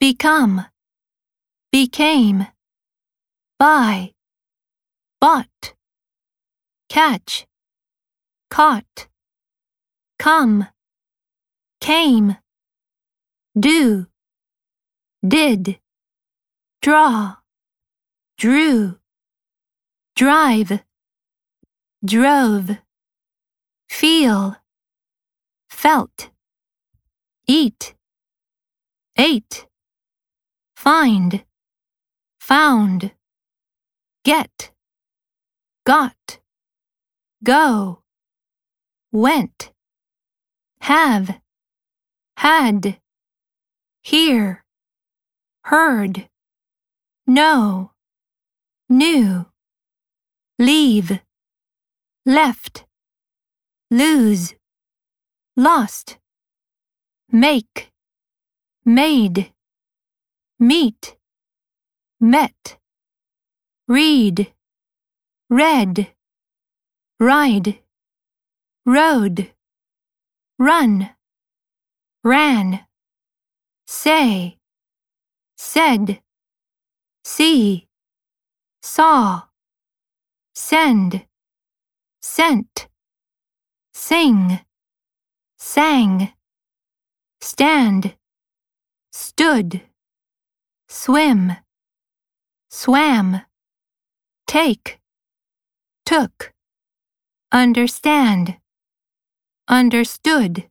become, became, buy, bought, catch, caught, come, came, do, did, draw, drew, drive, drove, feel, felt, eat, ate, find, found, get, got, go, went, have, had, hear, heard, know, knew, leave, left, lose, lost, make, made, meet, met, read, read, ride, rode, run, ran, say, said, see, saw, send, sent, sing, sang, stand, stood, swim, swam, take, took, understand, understood,